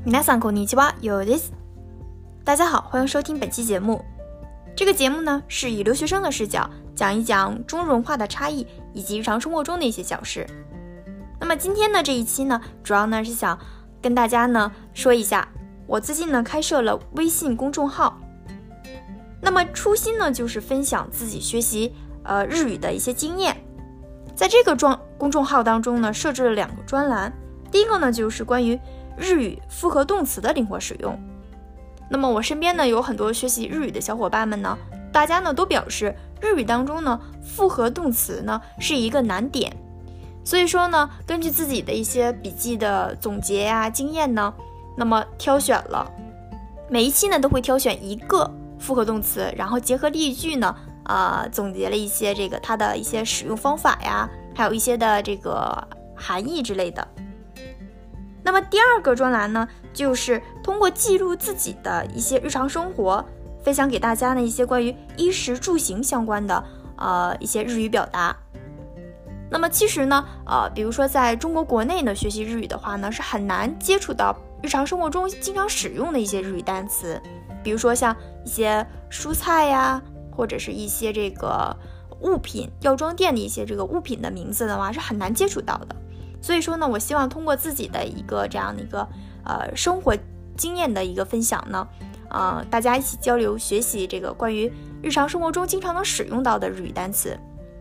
皆さんこんにちは、ようです。大家好，欢迎收听本期节目。这个节目呢，是以留学生的视角讲一讲中日文化的差异以及日常生活中的一些小事。那么今天呢这一期呢，主要呢是想跟大家呢说一下，我最近呢开设了微信公众号。那么初心呢就是分享自己学习日语的一些经验。在这个公众号当中呢，设置了2个专栏。第一个呢就是关于日语复合动词的灵活使用。那么我身边呢有很多学习日语的小伙伴们呢，大家呢都表示日语当中呢复合动词呢是一个难点。所以说呢，根据自己的一些笔记的总结呀、经验呢，那么挑选了每一期呢都会挑选一个复合动词，然后结合例句呢总结了一些它的一些使用方法呀，还有一些的这个含义之类的。那么第2个专栏呢，就是通过记录自己的一些日常生活，分享给大家呢一些关于衣食住行相关的一些日语表达。那么其实呢比如说在中国国内呢学习日语的话呢，是很难接触到日常生活中经常使用的一些日语单词，比如说像一些蔬菜呀，或者是一些这个物品，药妆店的一些这个物品的名字的话是很难接触到的。所以说呢，我希望通过自己的一个这样的一个生活经验的一个分享呢，大家一起交流学习这个关于日常生活中经常能使用到的日语单词。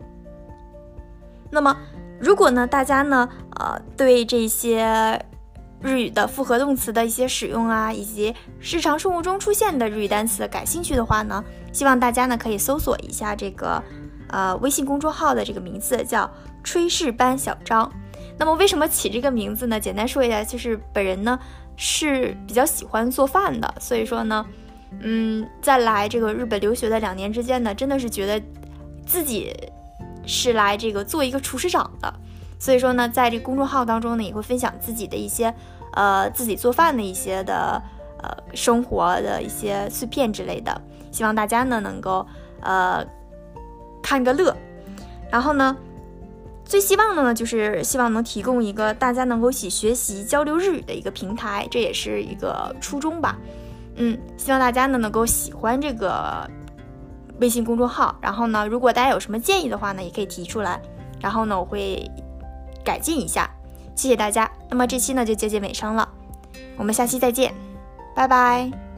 那么如果呢大家呢对这些日语的复合动词的一些使用啊，以及日常生活中出现的日语单词感兴趣的话呢，希望大家呢可以搜索一下这个微信公众号的这个名字叫炊事班小张。那么为什么起这个名字呢？简单说一下，就是本人呢是比较喜欢做饭的，所以说呢在来这个日本留学的2年之间呢，真的是觉得自己是来这个做一个厨师长的。所以说呢，在这个公众号当中呢，也会分享自己的一些自己做饭的一些的生活的一些碎片之类的，希望大家呢能够看个乐。然后呢，最希望的呢就是希望能提供一个大家能够一起学习交流日语的一个平台，这也是一个初衷吧。希望大家呢能够喜欢这个微信公众号，然后呢如果大家有什么建议的话呢，也可以提出来，然后呢我会改进一下。谢谢大家。那么这期呢就接近尾声了，我们下期再见，拜拜。